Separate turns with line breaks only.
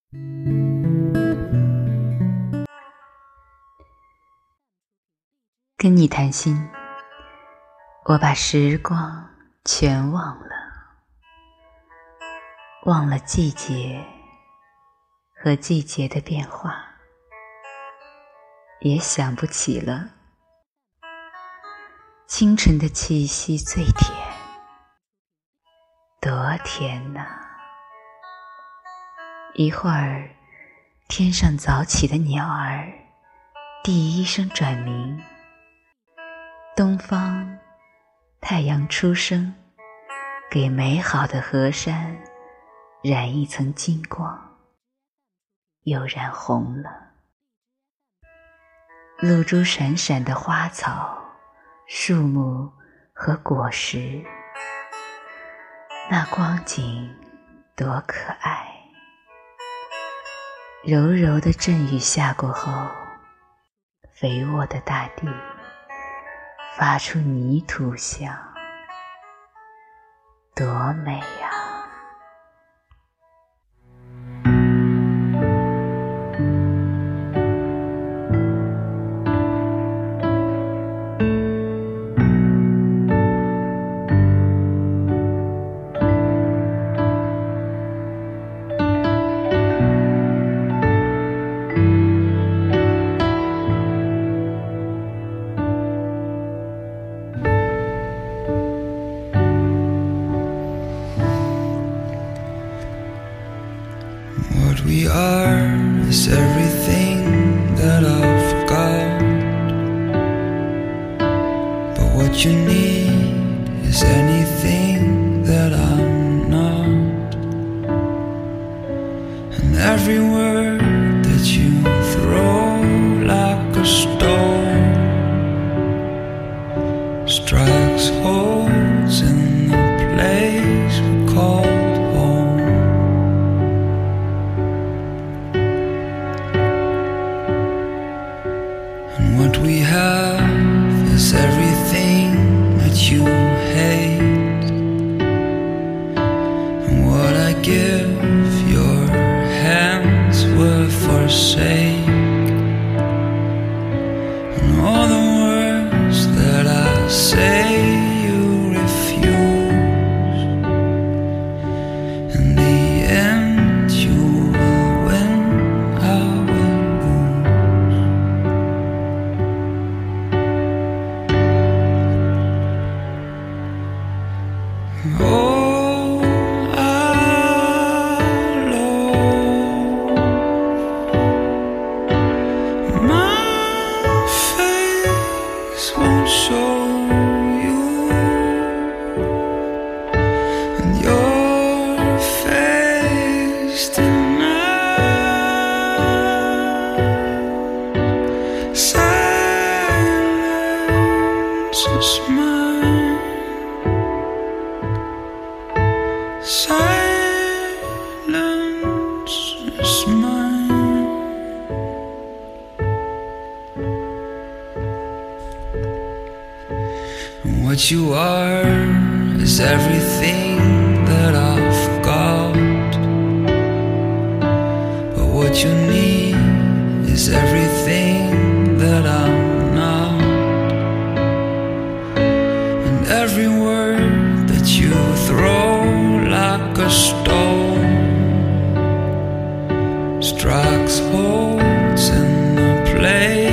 跟你谈心，我把时光全忘了，忘了季节和季节的变化，也想不起了清晨的气息最甜，多甜啊！一会儿天上早起的鸟儿第一声转鸣，东方太阳初升，给美好的河山染一层金光，又染红了。露珠闪闪的花草、树木和果实，那光景多可爱。柔柔的阵雨下过后，肥沃的大地发出泥土香，多美啊！
What we are is everything that I forgot, but what you need is anything that I'm not. And every word that you throw like a stone strikes holes in the place we call home. And what we have is everything that you hate, and what I give your hands will forsake. And all the words that I say you refuse, in the end you will win, I will lose. Oh, my face won't show you, and your face tonight. Silence is mine. Silence is mine. And what you are is everything that I forgot, but what you need is everything that I'm not. And every word that you throw like a stone strikes holes in the place